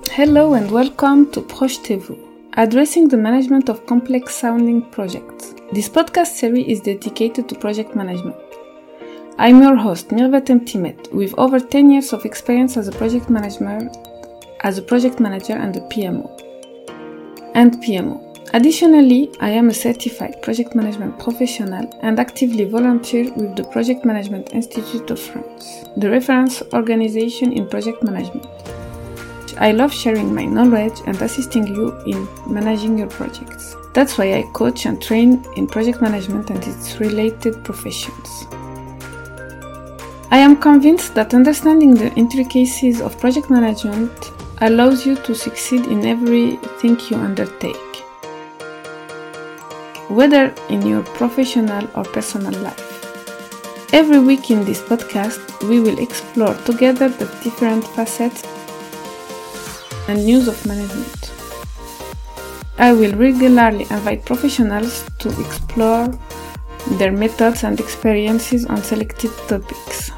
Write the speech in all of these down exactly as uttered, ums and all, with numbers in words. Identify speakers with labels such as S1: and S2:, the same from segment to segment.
S1: Hello and welcome to Projetez-vous, addressing the management of complex-sounding projects. This podcast series is dedicated to project management. I'm your host, Mirvat Mtimet, with over ten years of experience as a project manager, as a project manager and a P M O. And P M O. Additionally, I am a certified project management professional and actively volunteer with the Project Management Institute of France, the reference organization in project management. I love sharing my knowledge and assisting you in managing your projects. That's why I coach and train in project management and its related professions. I am convinced that understanding the intricacies of project management allows you to succeed in everything you undertake, whether in your professional or personal life. Every week in this podcast, we will explore together the different facets and news of management. I will regularly invite professionals to explore their methods and experiences on selected topics.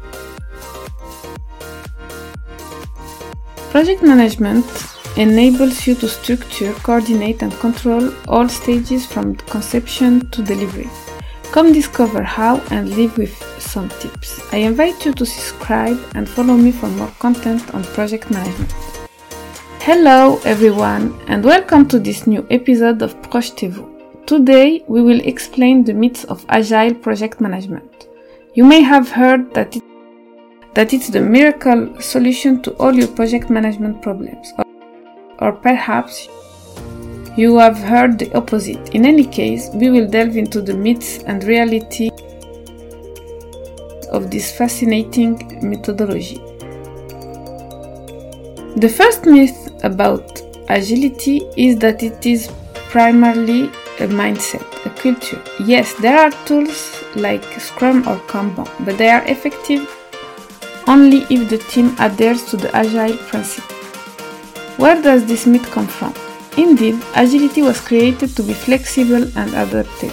S1: Project management enables you to structure, coordinate, and control all stages from conception to delivery. Come discover how and live with some tips. I invite you to subscribe and follow me for more content on project management. Hello everyone and welcome to this new episode of Projetez-vous. Today we will explain the myths of agile project management. You may have heard that it, that it's the miracle solution to all your project management problems. Or Or perhaps you have heard the opposite. In any case, we will delve into the myths and reality of this fascinating methodology. The first myth about agility is that it is primarily a mindset, a culture. Yes, there are tools like Scrum or Kanban, but they are effective only if the team adheres to the agile principle. Where does this myth come from? Indeed, agility was created to be flexible and adaptable.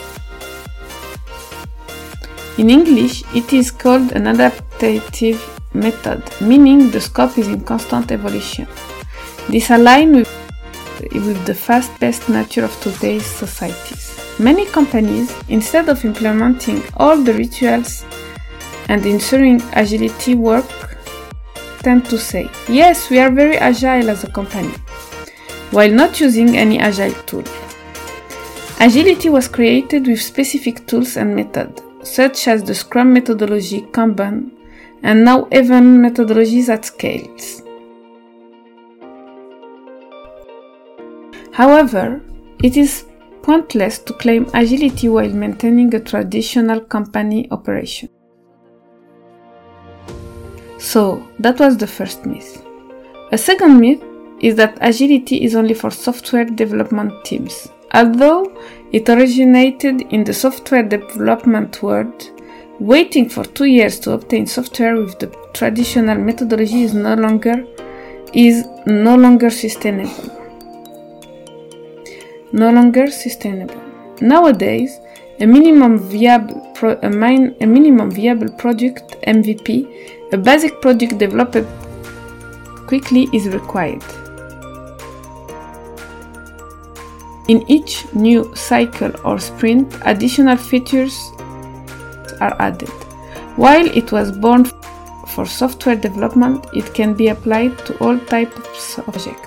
S1: In English, it is called an adaptive method, meaning the scope is in constant evolution. This aligns with, with the fast-paced nature of today's societies. Many companies, instead of implementing all the rituals and ensuring agility work, tend to say, yes, we are very agile as a company, while not using any agile tool. Agility was created with specific tools and methods, such as the Scrum methodology, Kanban, and now even methodologies at scales. However, it is pointless to claim agility while maintaining a traditional company operation. So, that was the first myth. A second myth is that agility is only for software development teams. Although it originated in the software development world, waiting for two years to obtain software with the traditional methodology is no longer is no longer sustainable. No longer sustainable. Nowadays, a minimum viable pro- a, min- a minimum viable product M V P, a basic product developed quickly, is required. In each new cycle or sprint, additional features are added. While it was born for software development, it can be applied to all types of projects.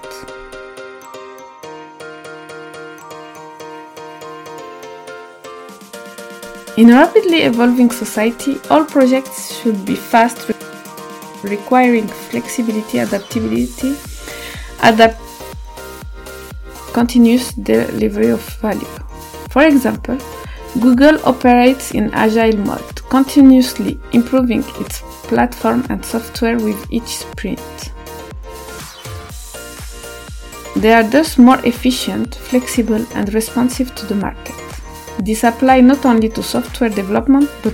S1: In a rapidly evolving society, all projects should be fast, requiring flexibility, adaptability, adapt continuous delivery of value. For example, Google operates in agile mode, continuously improving its platform and software with each sprint. They are thus more efficient, flexible, and responsive to the market. This applies not only to software development, but,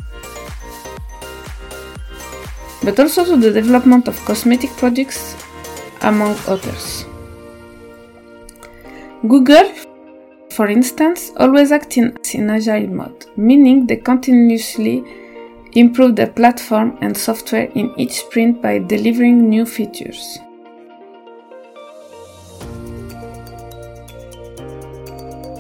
S1: but also to the development of cosmetic products, among others. Google, for instance, always acts in, in agile mode, meaning they continuously improve their platform and software in each sprint by delivering new features.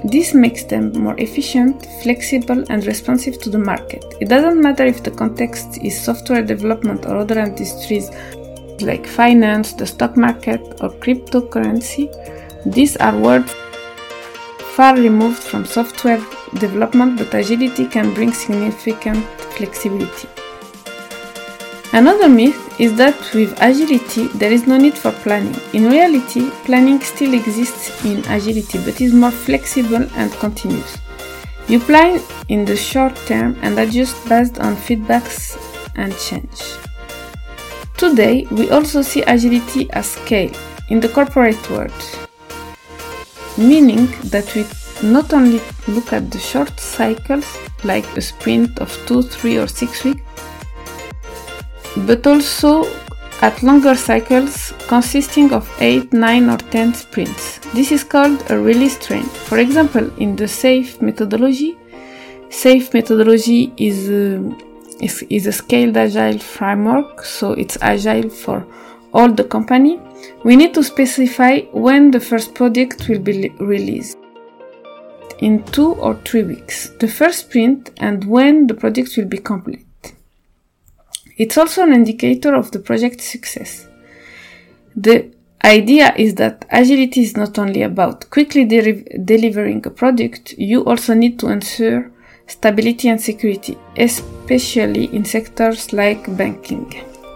S1: This makes them more efficient, flexible, and responsive to the market. It doesn't matter if the context is software development or other industries like finance, the stock market, or cryptocurrency. These are words far removed from software development, but agility can bring significant flexibility. Another myth is that with agility, there is no need for planning. In reality, planning still exists in agility, but is more flexible and continuous. You plan in the short term and adjust based on feedbacks and change. Today, we also see agility as scale in the corporate world, meaning that we not only look at the short cycles, like a sprint of two, three, or six weeks, but also at longer cycles consisting of eight, nine, or ten sprints. This is called a release train. For example, in the SAFe methodology, SAFe methodology is a, is, is a scaled agile framework, so it's agile for all the company. We need to specify when the first project will be released, in two or three weeks, the first sprint, and when the project will be complete. It's also an indicator of the project's success. The idea is that agility is not only about quickly de- delivering a product, you also need to ensure stability and security, especially in sectors like banking.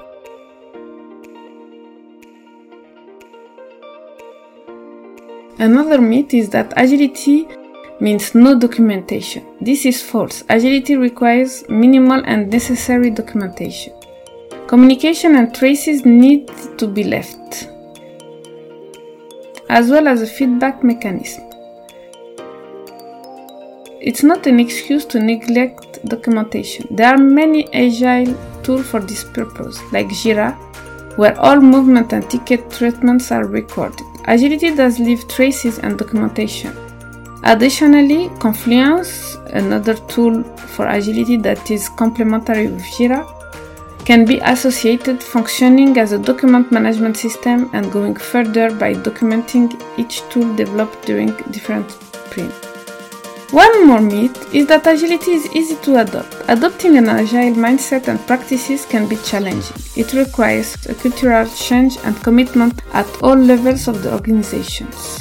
S1: Another myth is that agility means no documentation. This is false. Agility requires minimal and necessary documentation. Communication and traces need to be left, as well as a feedback mechanism. It's not an excuse to neglect documentation. There are many agile tools for this purpose, like Jira, where all movement and ticket treatments are recorded. Agility does leave traces and documentation. Additionally, Confluence, another tool for agility that is complementary with Jira, can be associated functioning as a document management system and going further by documenting each tool developed during different sprints. One more myth is that agility is easy to adopt. Adopting an agile mindset and practices can be challenging. It requires a cultural change and commitment at all levels of the organizations.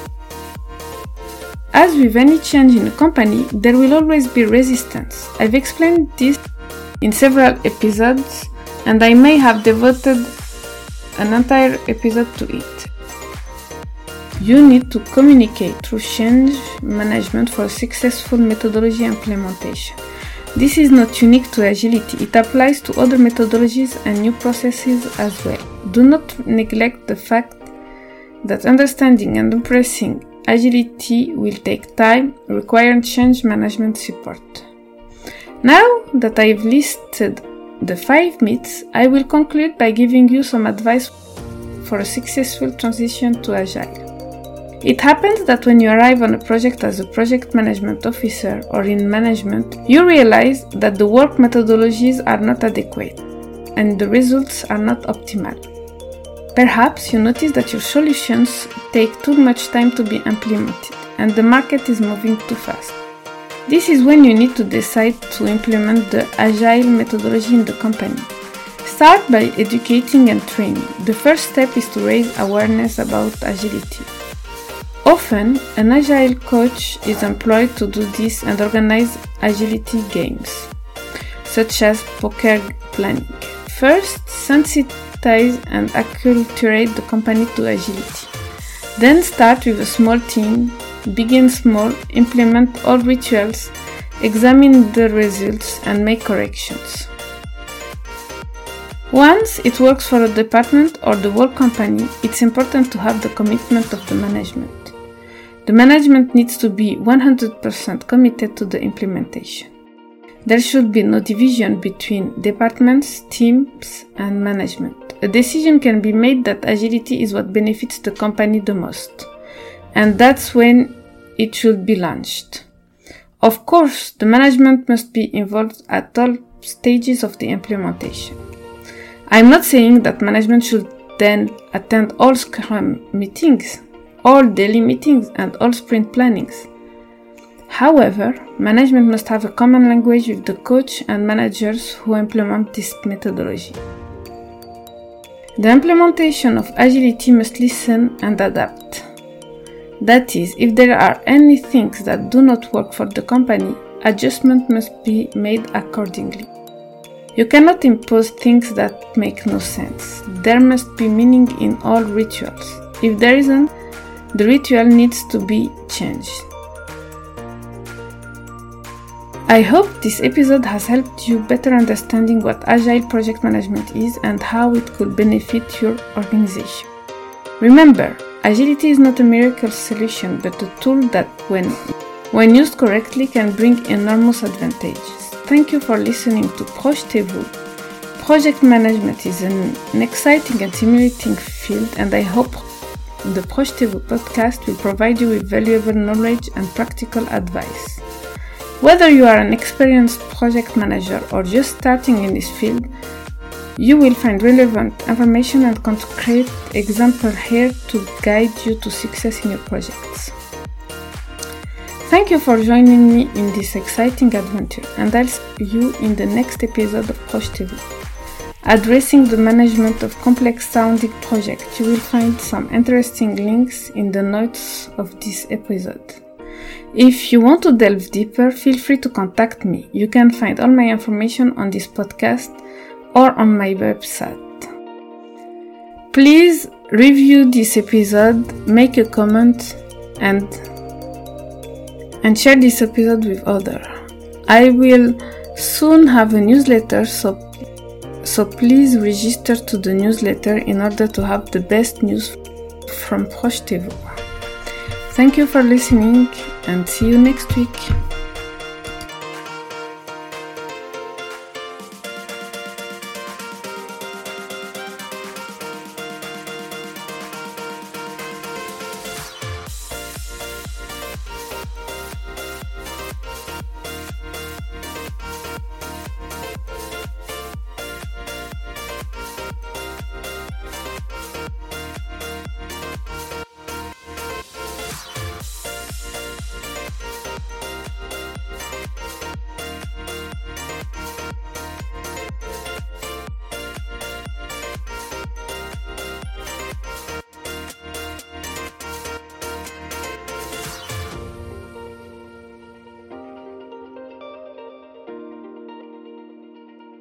S1: As with any change in a company, there will always be resistance. I've explained this in several episodes, and I may have devoted an entire episode to it. You need to communicate through change management for a successful methodology implementation. This is not unique to agility. It applies to other methodologies and new processes as well. Do not neglect the fact that understanding and embracing agility will take time, requiring change management support. Now that I've listed the five myths, I will conclude by giving you some advice for a successful transition to agile. It happens that when you arrive on a project as a project management officer or in management, you realize that the work methodologies are not adequate and the results are not optimal. Perhaps you notice that your solutions take too much time to be implemented and the market is moving too fast. This is when you need to decide to implement the agile methodology in the company. Start by educating and training. The first step is to raise awareness about agility. Often, an agile coach is employed to do this and organize agility games, such as poker planning. First, sensitize and acculturate the company to agility. Then start with a small team, begin small, implement all rituals, examine the results and make corrections. Once it works for a department or the whole company, it's important to have the commitment of the management. The management needs to be one hundred percent committed to the implementation. There should be no division between departments, teams, and management. A decision can be made that agility is what benefits the company the most, and that's when it should be launched. Of course, the management must be involved at all stages of the implementation. I'm not saying that management should then attend all Scrum meetings, all daily meetings, and all sprint plannings. However, management must have a common language with the coach and managers who implement this methodology. The implementation of agility must listen and adapt. That is, if there are any things that do not work for the company, adjustment must be made accordingly. You cannot impose things that make no sense. There must be meaning in all rituals. If there isn't, the ritual needs to be changed. I hope this episode has helped you better understanding what Agile project management is and how it could benefit your organization. Remember, agility is not a miracle solution, but a tool that, when, when used correctly, can bring enormous advantages. Thank you for listening to Projetez-vous. Project management is an, an exciting and stimulating field, and I hope the Projetez-vous podcast will provide you with valuable knowledge and practical advice. Whether you are an experienced project manager or just starting in this field, you will find relevant information and concrete examples here to guide you to success in your projects. Thank you for joining me in this exciting adventure, and I'll see you in the next episode of Projetez-vous. Addressing the management of complex sounding projects, you will find some interesting links in the notes of this episode. If you want to delve deeper, feel free to contact me. You can find all my information on this podcast or on my website. Please review this episode, make a comment, and and share this episode with others. I will soon have a newsletter, so so please register to the newsletter in order to have the best news from Projetez-vous. Thank you for listening and see you next week.